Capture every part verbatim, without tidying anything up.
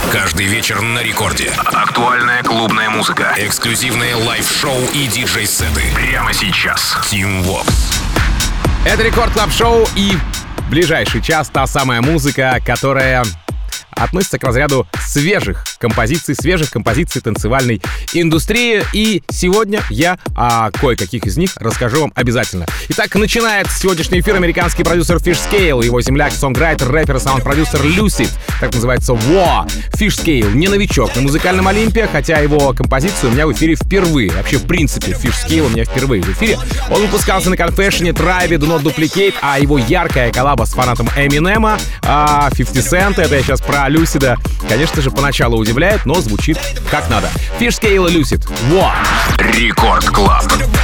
Каждый вечер на рекорде. Актуальная клубная музыка. Эксклюзивные лайв-шоу и диджей-сеты. Прямо сейчас. Team Vox. Это Рекорд Клаб Шоу, и в ближайший час та самая музыка, которая относится к разряду свежих композиций, свежих композиций танцевальной индустрии. И сегодня я о кое-каких из них расскажу вам обязательно. Итак, начинает сегодняшний эфир американский продюсер Fishscale, его земляк, сонграйтер, рэпер и саунд-продюсер Lucid, так называется War. Fishscale не новичок на музыкальном Олимпе, хотя его композиция у меня в эфире впервые. Вообще, в принципе, Fishscale у меня впервые в эфире. Он выпускался на Confession, Tribe, Do Not Duplicate, а его яркая коллаба с фанатом Эминема, а фифти Cent, это я сейчас про Люсида, конечно же, поначалу удивляет, но звучит как надо. Fishscale и Lucid. Wow. Рекорд Клаб.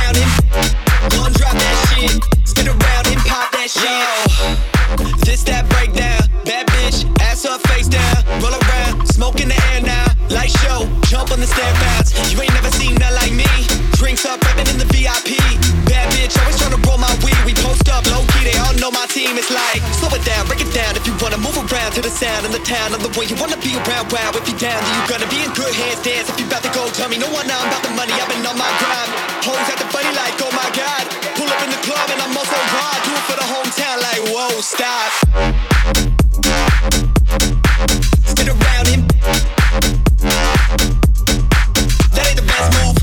Drinks up, rapping in the V I P. Bad bitch, always tryna roll my weed. We post up, low key, they all know my team. It's like, slow it down, break it down. If you wanna move around to the sound in the town, of the way you wanna be around, wow. If you down, then you gonna be in good hands, dance. If you about to go, tell me no one now, I'm about the money. I've been on my grind. Hoes acting funny like, oh my god. Pull up in the club and I'm also hard. Do it for the hometown, like, whoa, stop. Spin around him. That ain't the best move.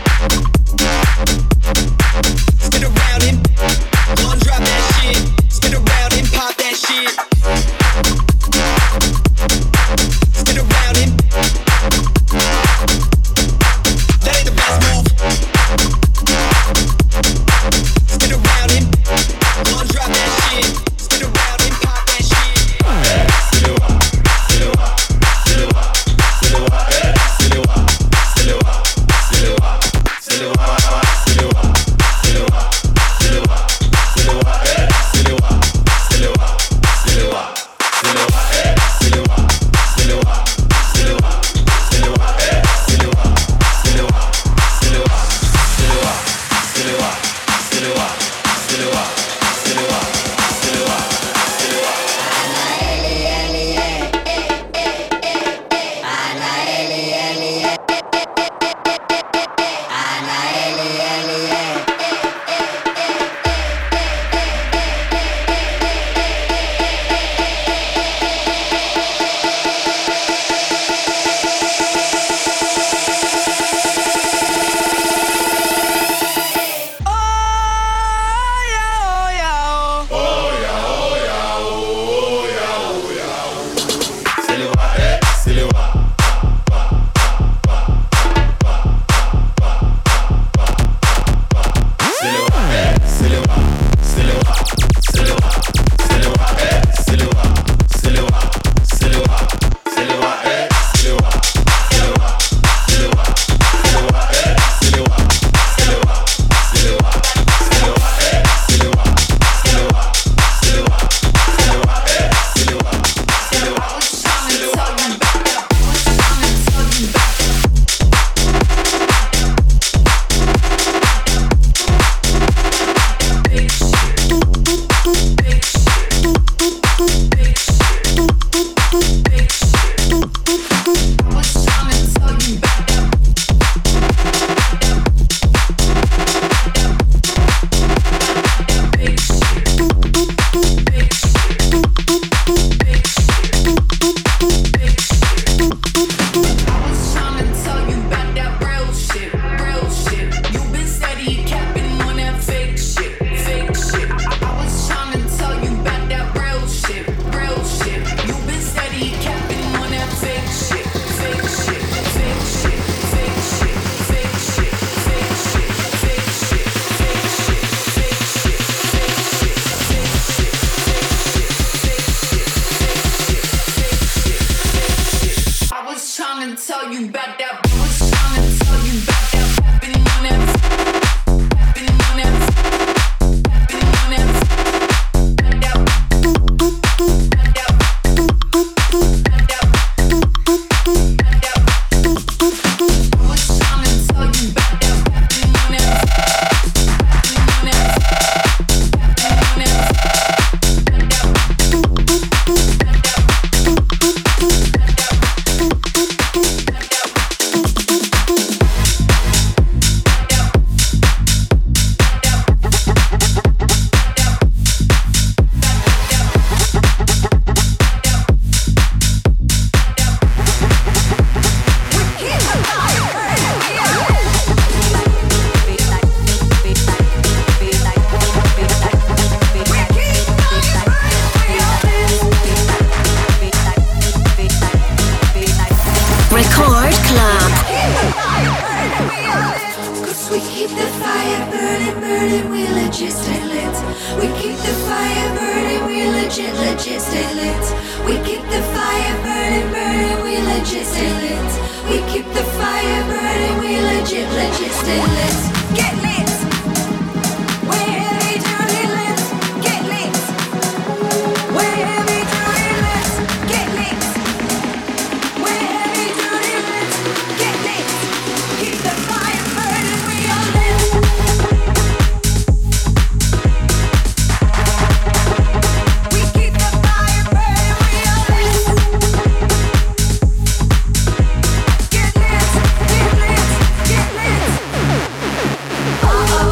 Spin around him, gon' drop that shit. Spin around him, pop that shit. Spin around him. That ain't the best move. Spin around him, gon' drop that shit. Spin around him, pop that shit. Silewa, silewa, silewa, silewa, eh, silewa, silewa, silewa, silewa. burning, we legit stay lit. We keep the fire burning, we legit, legit stay lit. We keep the fire burning, burning, we legit stay lit. We keep the fire burning, we legit, legit stay lit. Get lit. We're heavy duty lit. Get lit. We're heavy duty lit. Get lit. We're heavy duty lit. Get lit. Keep the fire burning, we are lit. We keep the fire burning, we are lit. Get lit, get lit, get lit. Uh-oh.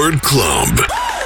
Record Club.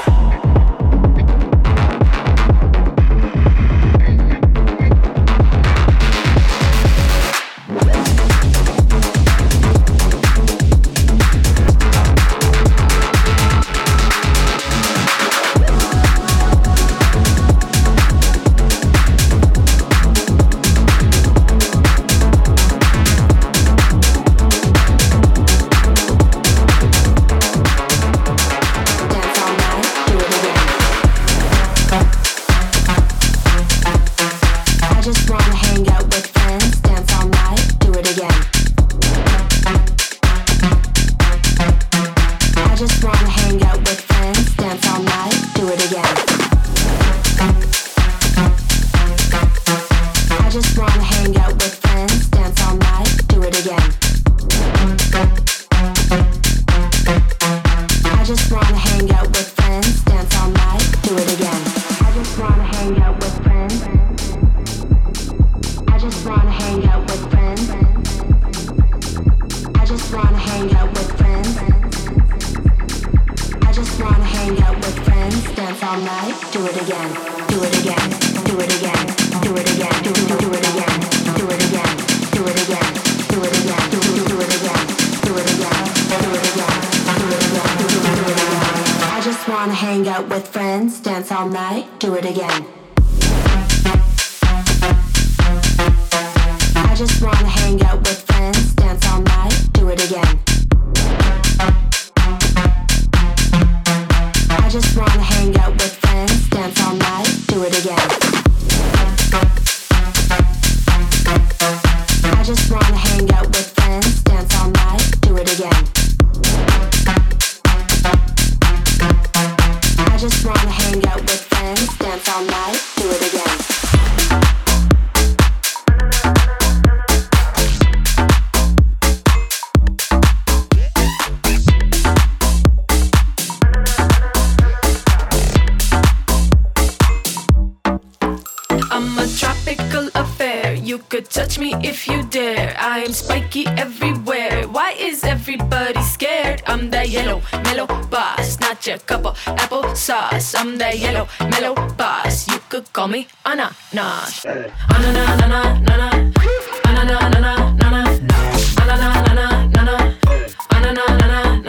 Touch me if you dare. I am spiky everywhere. Why is everybody scared? I'm that yellow mellow boss, not your cup of apple sauce. I'm that yellow mellow boss. You could call me ananas. Ananas, ananas, ananas, ananas, ananas, ananas, ananas, ananas, ananas, ananas,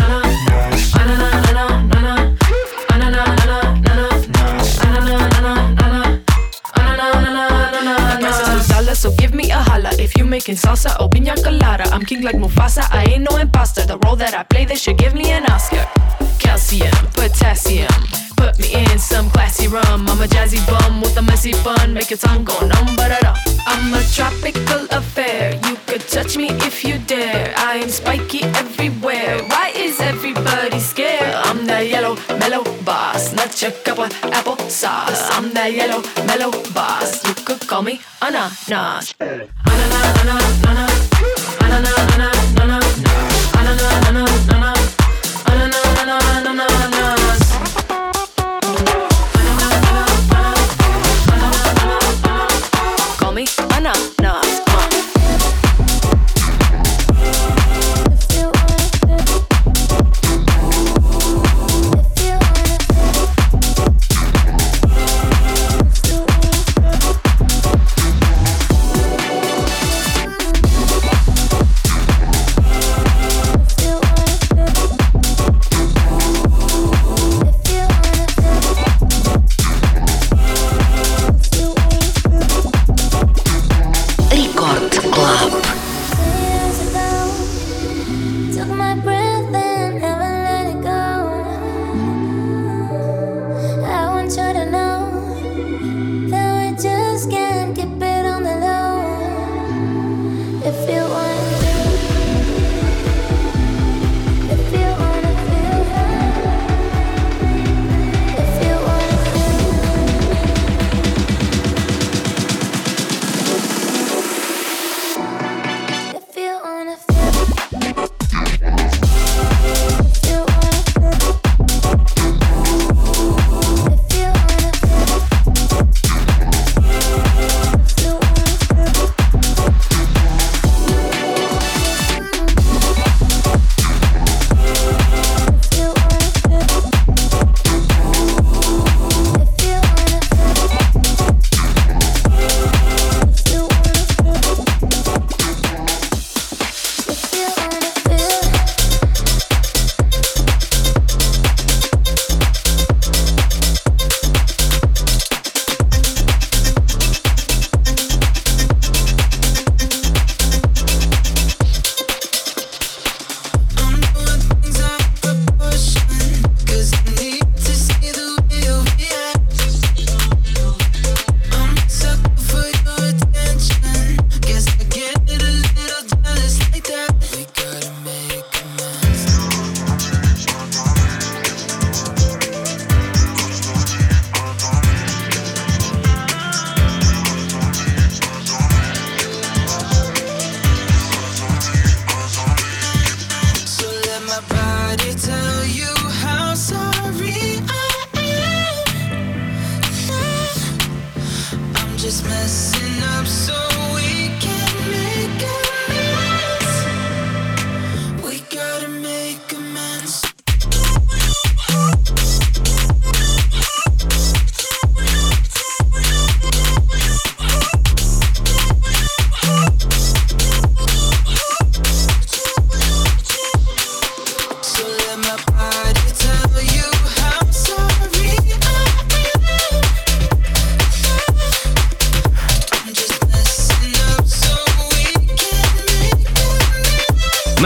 ananas, ananas, so give me a holla if you making salsa or piña colada. I'm king like Mufasa, I ain't no imposter. The role that I play, they should give me an Oscar. Calcium, potassium, put me in some classy rum. I'm a jazzy bum with a messy bun, make your tongue go numb, but I don't. I'm a tropical affair, you could touch me if you dare. I am spiky everywhere, why is everybody scared? I'm that yellow mellow boss, not your cup of apple sauce. I'm that yellow mellow boss, you could call me ananas. Ananas, ananas, ananas, ananas, ananas, ananas, ananas, ananas, ananas, ananas. Call me ananas.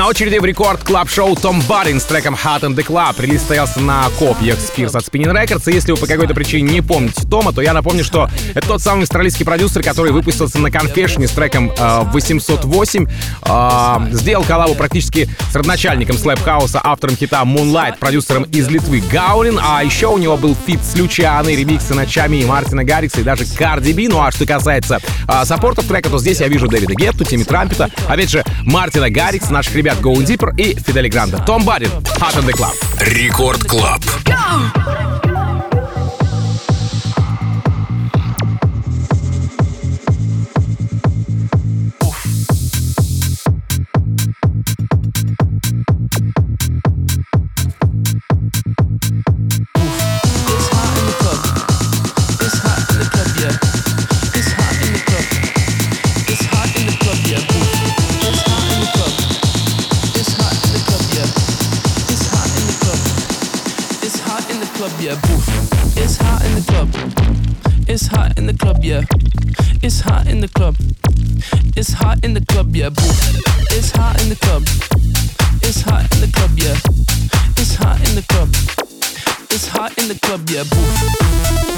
На очереди в рекорд клаб шоу Том Барин с треком Hot in the Club. Релиз стоялся на копьях Spears от Spinning Records. И если вы по какой-то причине не помните Тома, то я напомню, что это тот самый австралийский продюсер, который выпустился на Confession с треком э, восемьсот восемь. Э, сделал коллабу практически с родоначальником слэп-хауса, автором хита Moonlight, продюсером из Литвы Гаулин. А еще у него был фит с Лючианой, ремиксы на Чами, Мартина Гаррикса и даже Карди Би. Ну а что касается э, саппортов трека, то здесь я вижу Дэвида Гетту, Тимми Трампета, опять же Мартина Гаррикса, наших ребят Going Deeper и Фидели Гранде. Том Барин, Hot in the Club. Рекорд Клаб. Yeah, boof. It's hot in the club. It's hot in the club, yeah. It's hot in the club. It's hot in the club, yeah, boof. It's hot in the club. It's hot in the club, yeah. It's hot in the club. It's hot in the club, yeah, boof.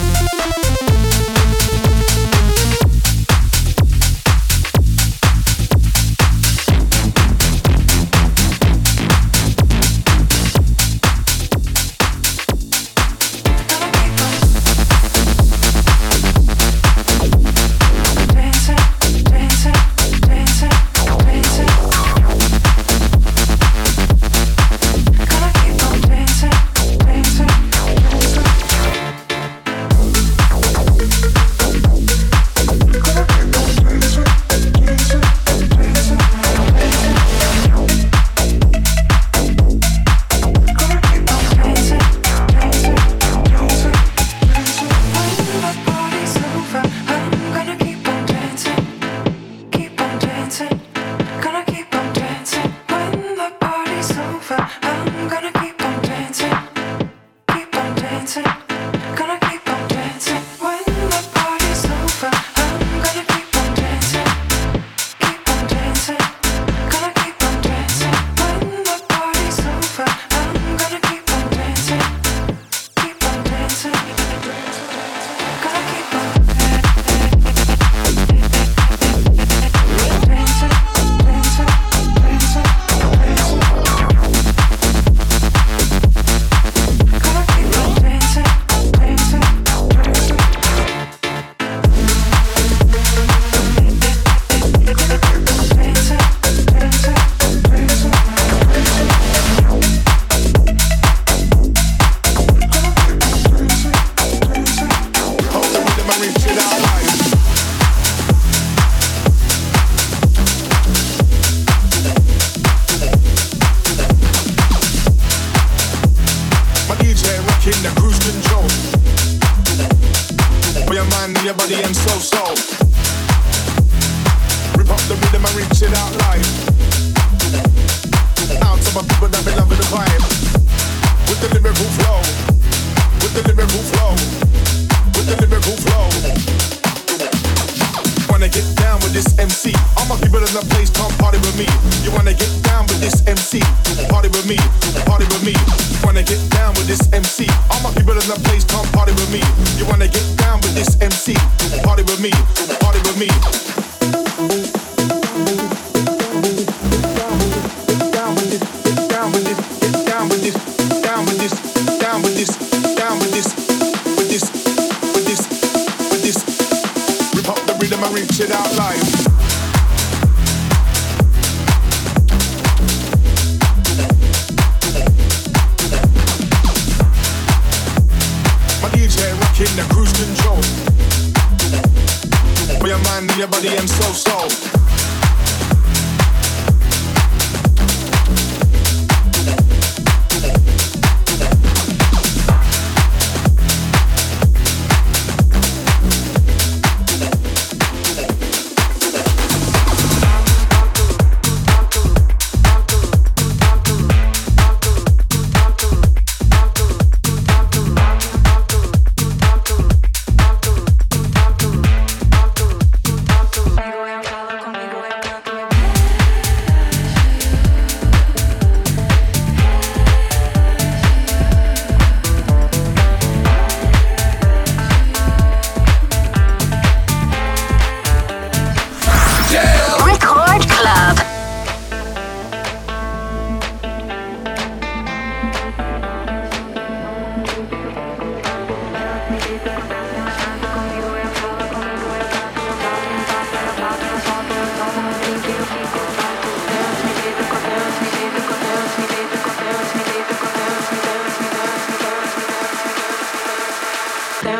Conmigo.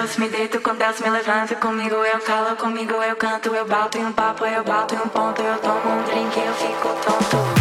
doce, me deito com Deus, me levanto comigo, eu calo comigo, eu canto, eu bato em um papo, eu bato em um ponto, eu tomo um drink, eu fico tonto.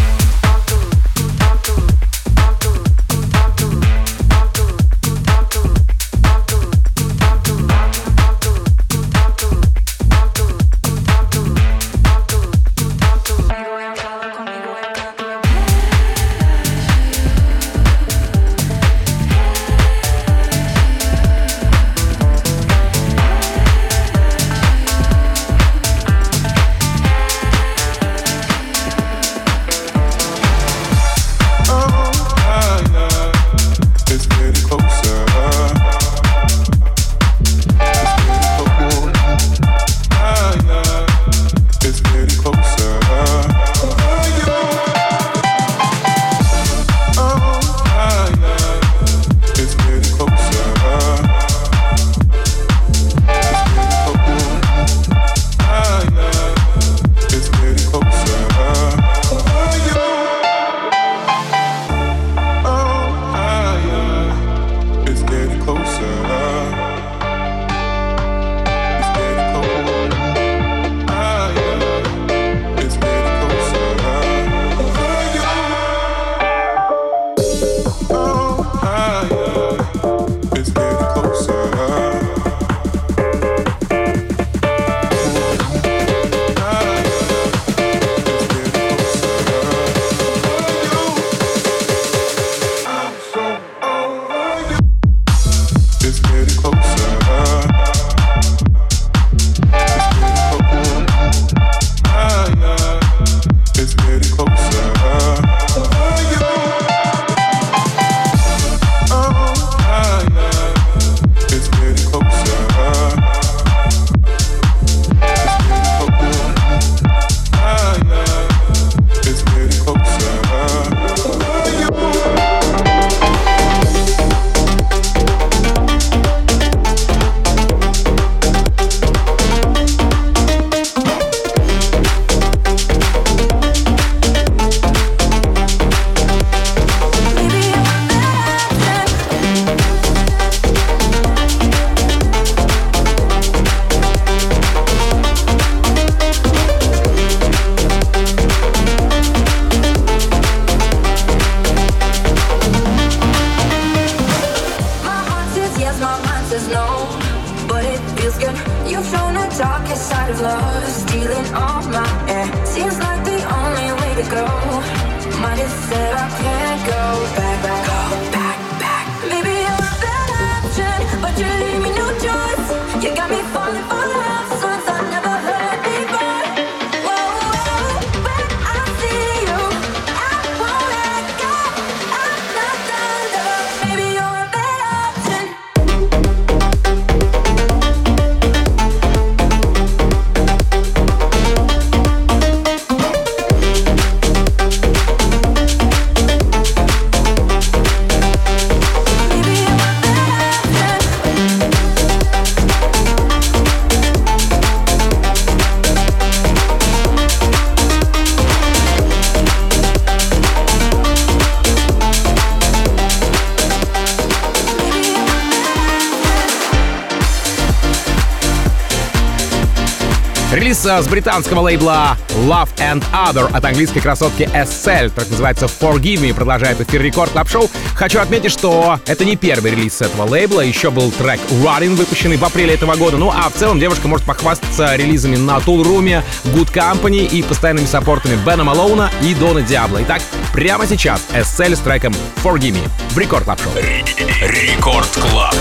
Релиз с британского лейбла Love and Other от английской красотки эс эл, так называется Forgive Me, продолжает эфир Рекорд Клаб Шоу. Хочу отметить, что это не первый релиз с этого лейбла, еще был трек Running, выпущенный в апреле этого года. Ну а в целом девушка может похвастаться релизами на Tool Room, Good Company и постоянными саппортами Бена Малоуна и Дона Диабло. Итак, прямо сейчас эс эл с треком Forgive Me в Рекорд Клаб Шоу. Рекорд Клаб.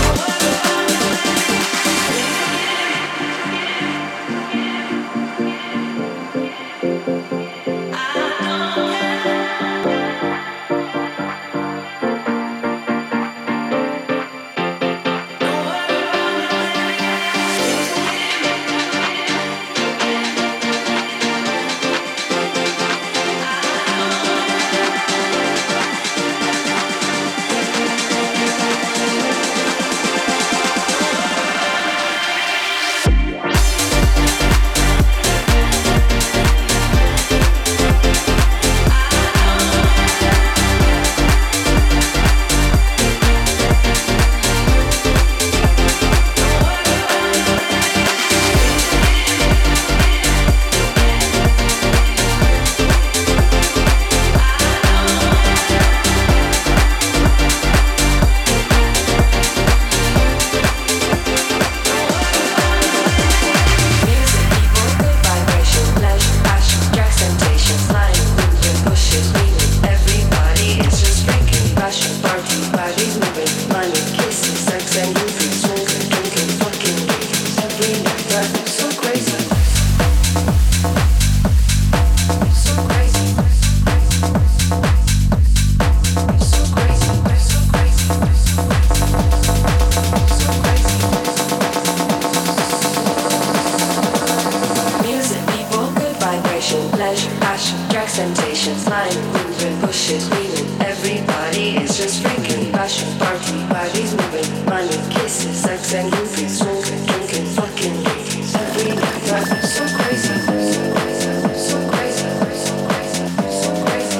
drugs, temptations, lying, moving, bullshit, screaming. Everybody is just freaking, passion, party, bodies moving, money, kisses, sex and groupies, smoking, drinking, fucking ladies. Every night, I'm so crazy, so crazy, so crazy, so crazy, so crazy.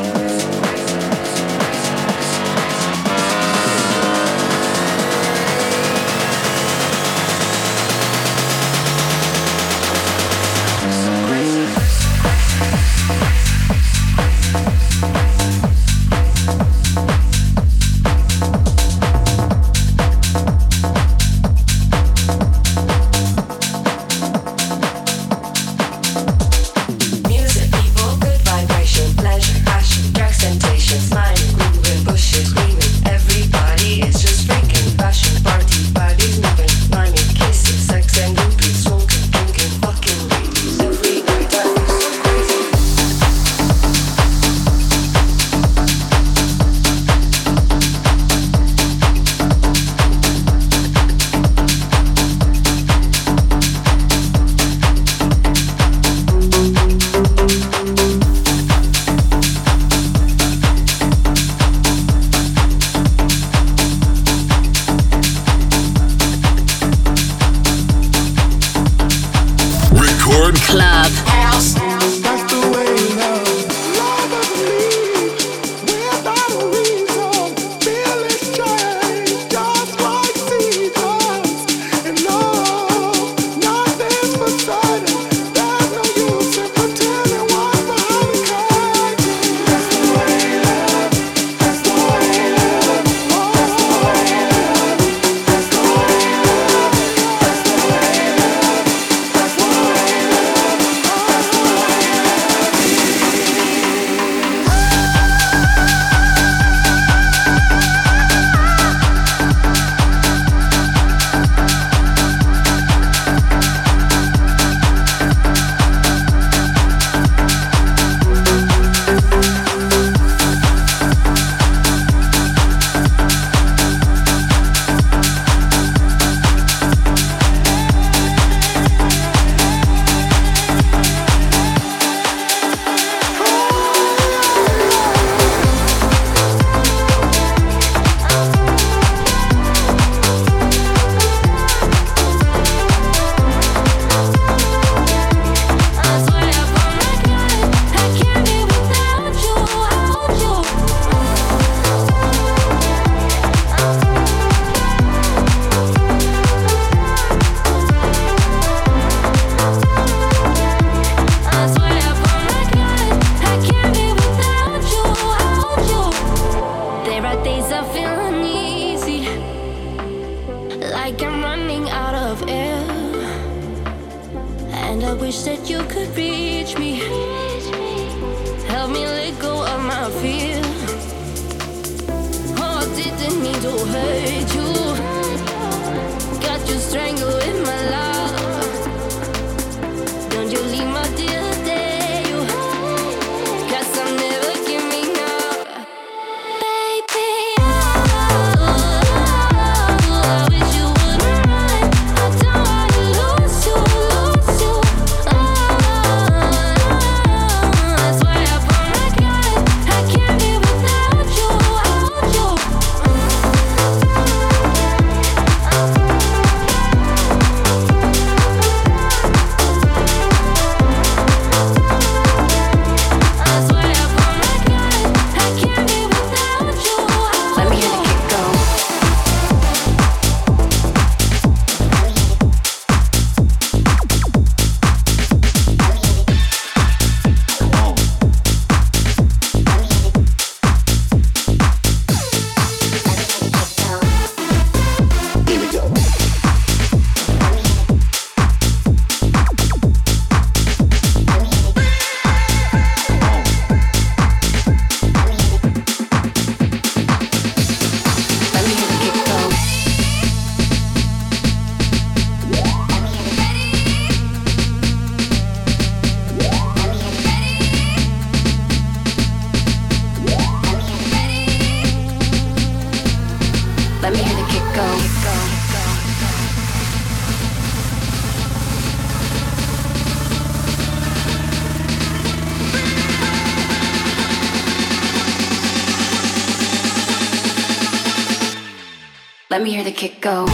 Let me hear the kick go.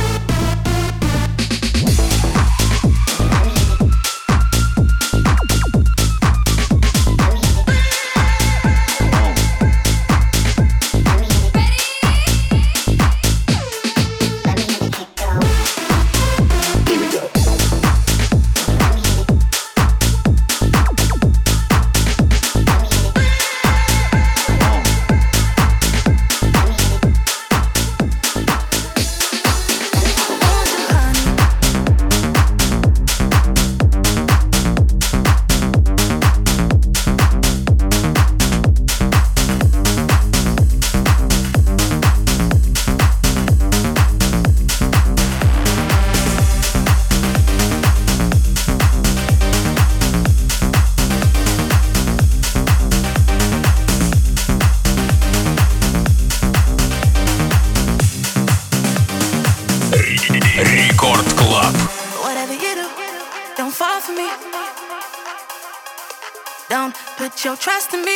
Put your trust in me.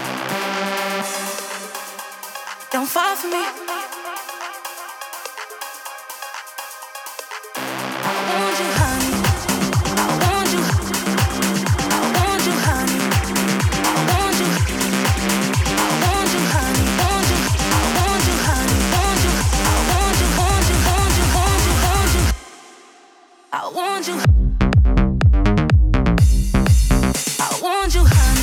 Don't fall for me. I want you, honey. I want you. I want you, honey. I want you. I want you, honey. Want you. I want you, honey. Want you. I want you. Want you. Want you. Want you. Want you. I want you. I want you, honey.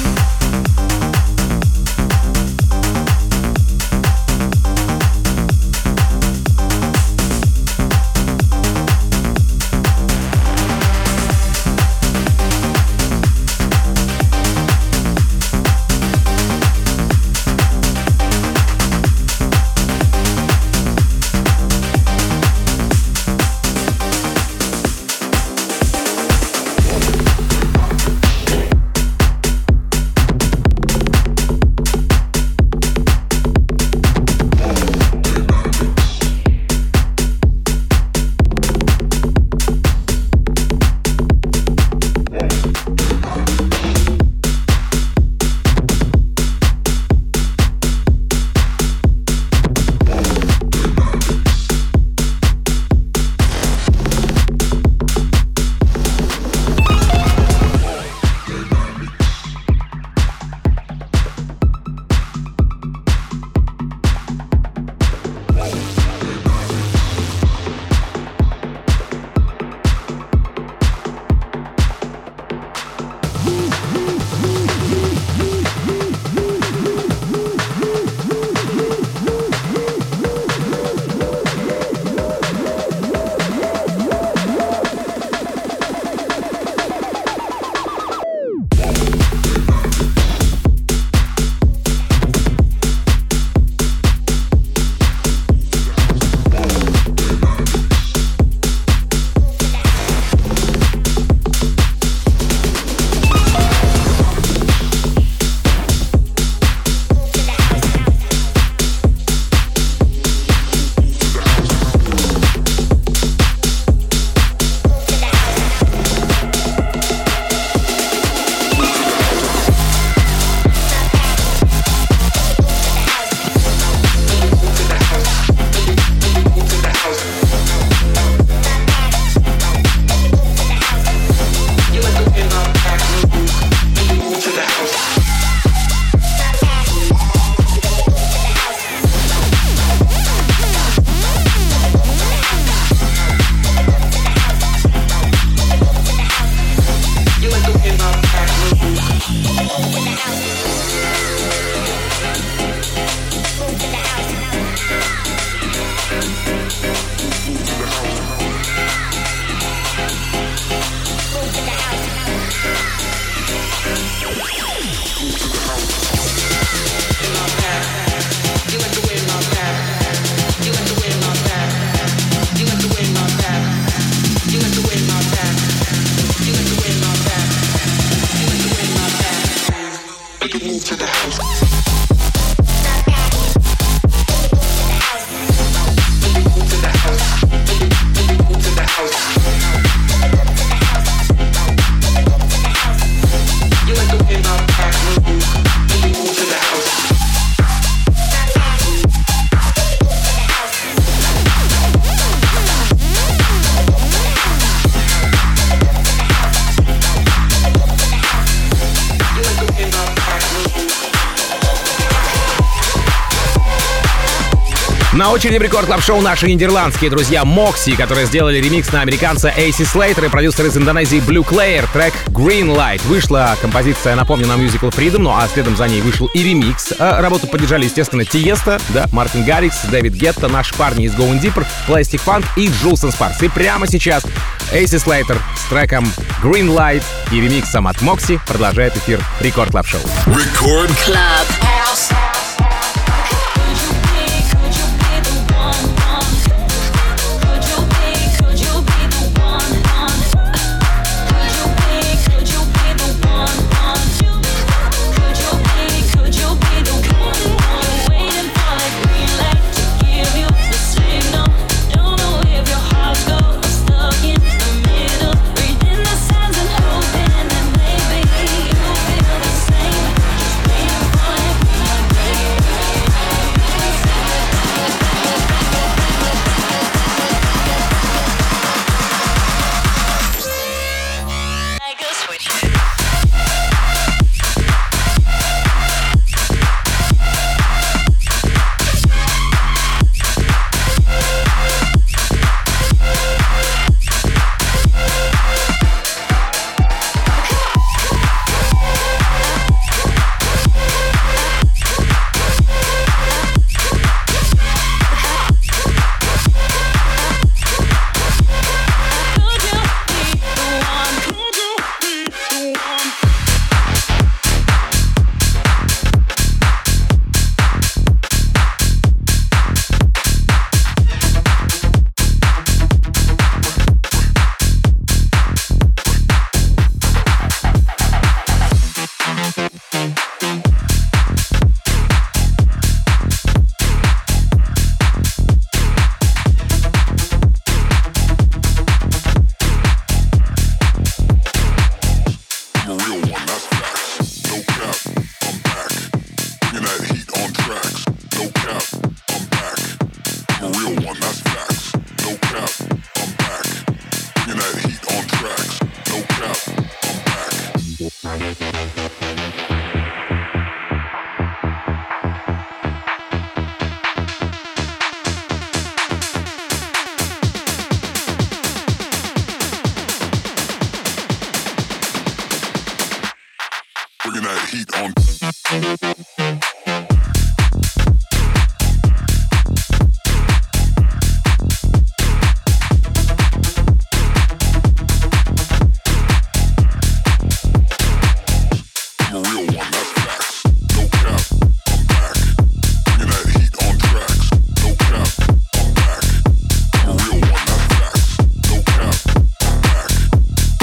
На очереди в Рекорд Клаб Шоу наши нидерландские друзья Moxie, которые сделали ремикс на американца Эйси Слейтер и продюсер из Индонезии Blue Claire, трек Green Light. Вышла композиция, напомню, на Musical Freedom, ну а следом за ней вышел и ремикс. Работу поддержали, естественно, Тиеста, да, Мартин Гаррикс, Дэвид Гетта, наши парни из Going Deeper, Plastic Funk и Jules and Sparks. И прямо сейчас Эйси Слейтер с треком Green Light и ремиксом от Moxie продолжает эфир Рекорд Клаб Шоу. Рекорд Клаб.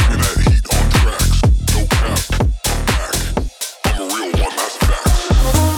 Real one, that's facts.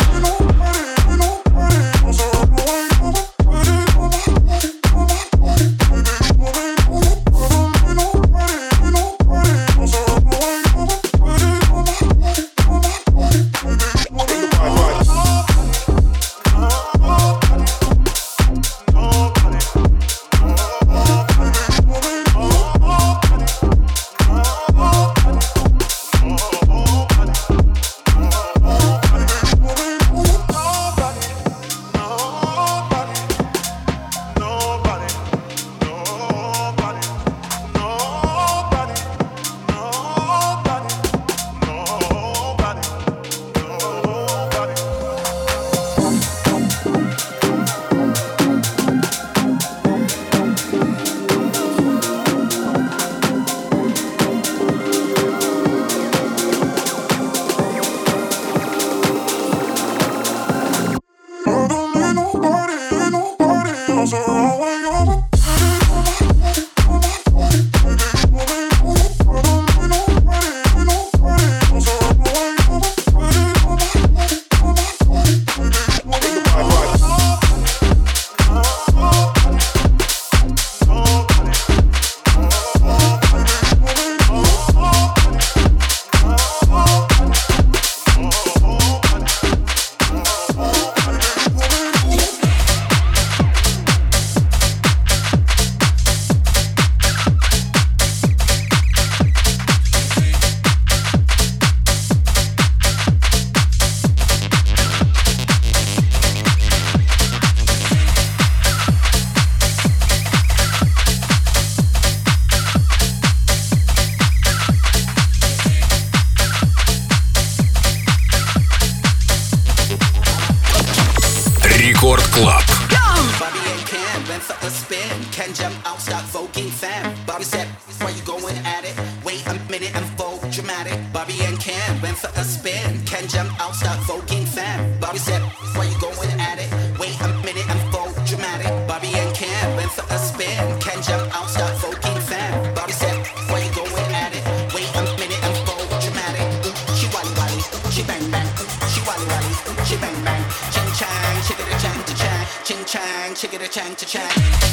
why you going at it? Wait a minute and vote dramatic. Bobby and Ken went for a spin. Ken jumped out, start voguing fam. Bobby said, why you going at it? Wait a minute and vote dramatic. Bobby and Ken went for a spin. Ken jumped out, start voguing fam. Bobby said, why you going at it? Wait a minute and vote dramatic. She wally wally, she bang bang. She wally wally, she bang bang. Ching chang, chickada chang to chang. Ching chang, chickada chang to chang.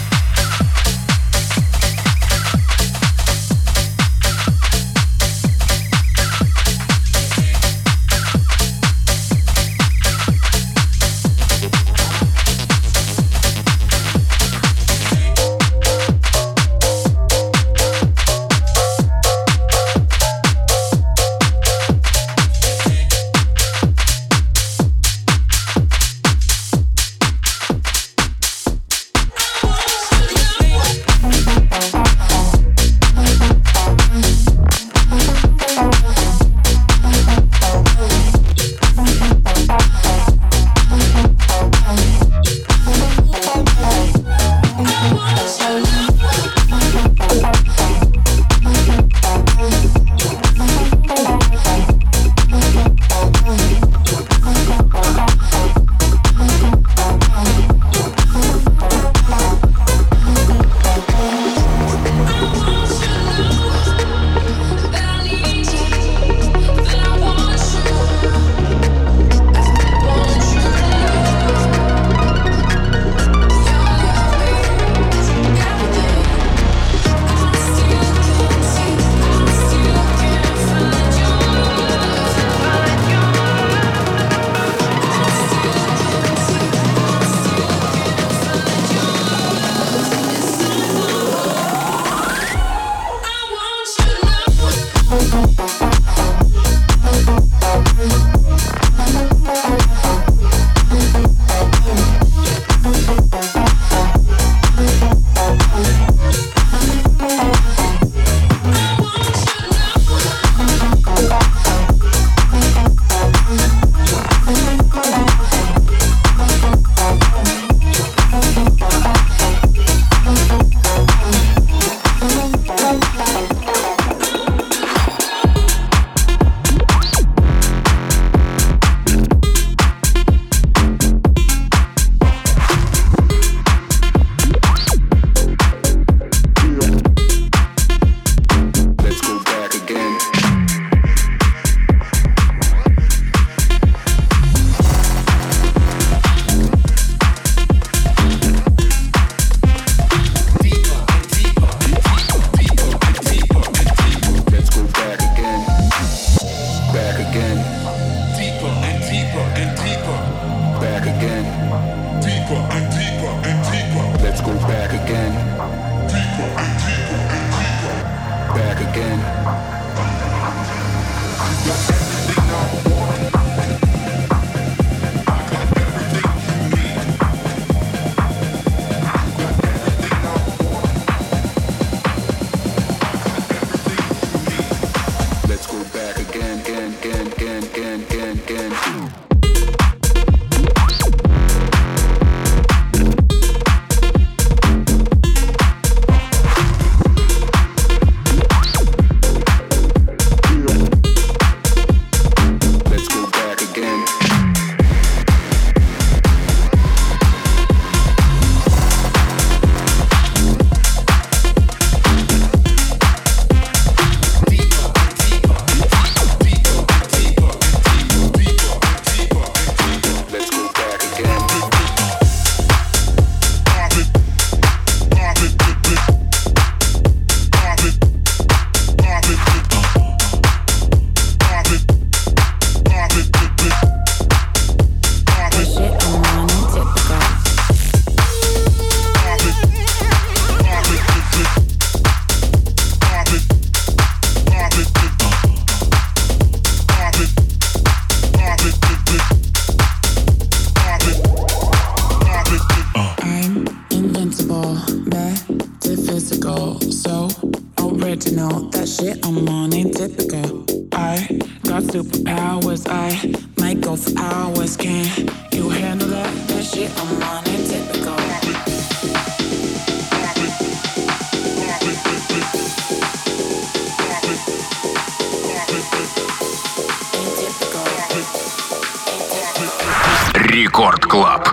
original. That shit I'm on ain't typical. I got superpowers. I might go for hours. Can you handle that? That shit I'm on ain't typical. Рекорд Клаб.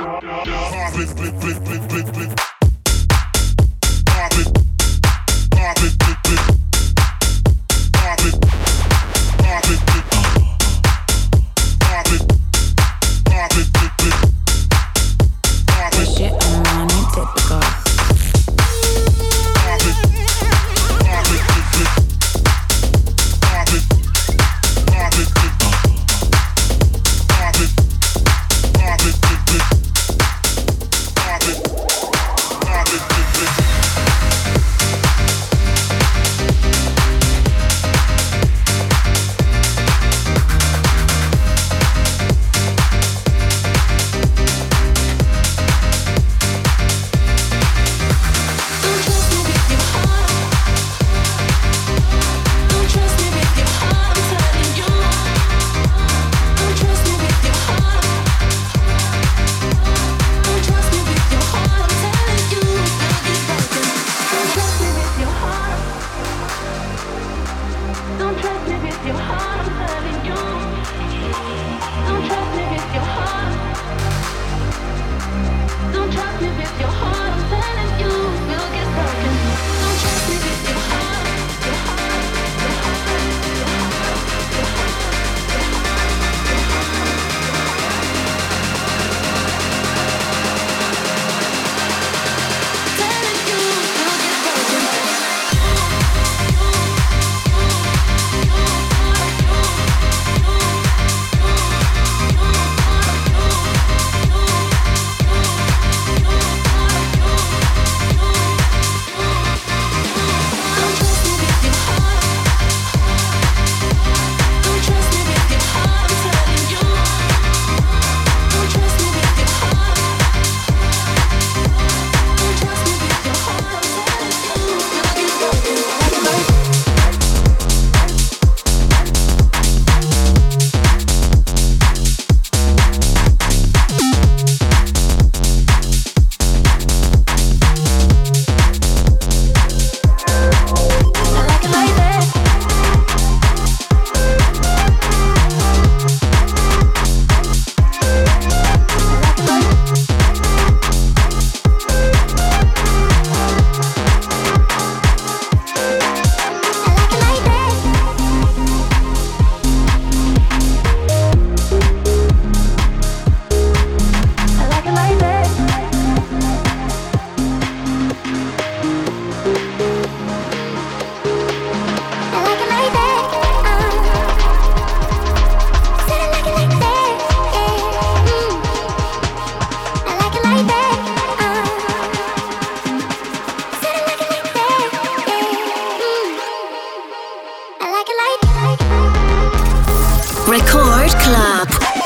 Record Club.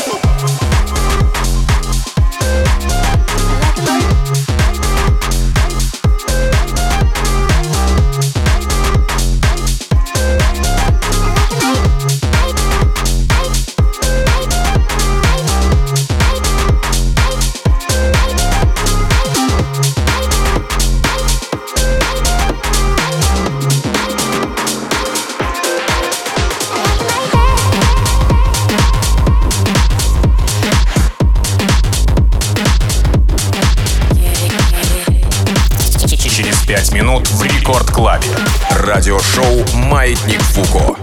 Минут в Рекорд Клабе. Радиошоу «Маятник Фуко».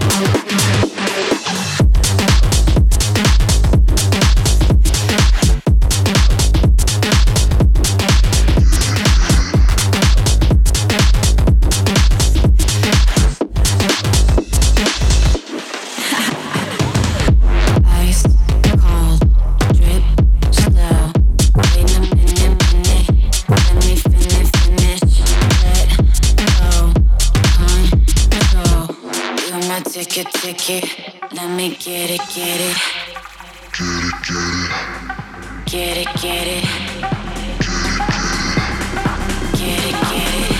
Ticket, ticket, let me get it, get it. Get it, get it. Get it, get it.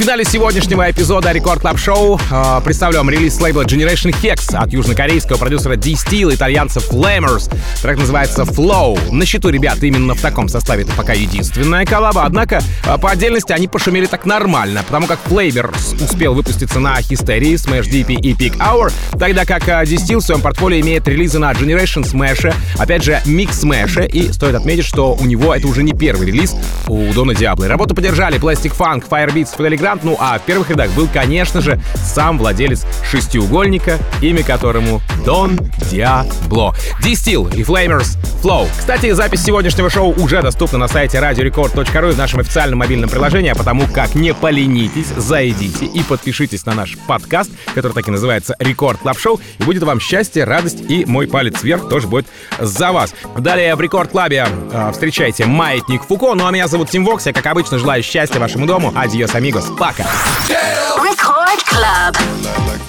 финале сегодняшнего эпизода Рекорд Клаб Шоу э, представлю вам релиз с лейбла Generation Hex от южнокорейского продюсера D-Steel и итальянцев Flamers. Трек называется Flow. На счету ребят именно в таком составе это пока единственная коллаба, однако э, по отдельности они пошумели так нормально, потому как Flavors успел выпуститься на Hysteria, Smash ди пи и Peak Hour, тогда как э, D-Steel в своем портфолио имеет релизы на Generation Smash, опять же Mix Smash, и стоит отметить, что у него это уже не первый релиз у Дона Диабло. Работу поддержали Plastic Funk, Firebeats, Fidelity Grant, ну а в первых рядах был, конечно же, сам владелец шестиугольника, имя которому Дон Диабло. D-Steel и Flamers Flow. Кстати, запись сегодняшнего шоу уже доступна на сайте радио рекорд точка ру и в нашем официальном мобильном приложении, а потому как не поленитесь, зайдите и подпишитесь на наш подкаст, который так и называется Рекорд Клаб Шоу, и будет вам счастье, радость, и мой палец вверх тоже будет за вас. Далее в Рекорд Клабе э, встречайте Маятник Фуко, ну а меня зовут Тим Вокс, я, как обычно, желаю счастья вашему дому. Адьос, амигос, пока! Record Club.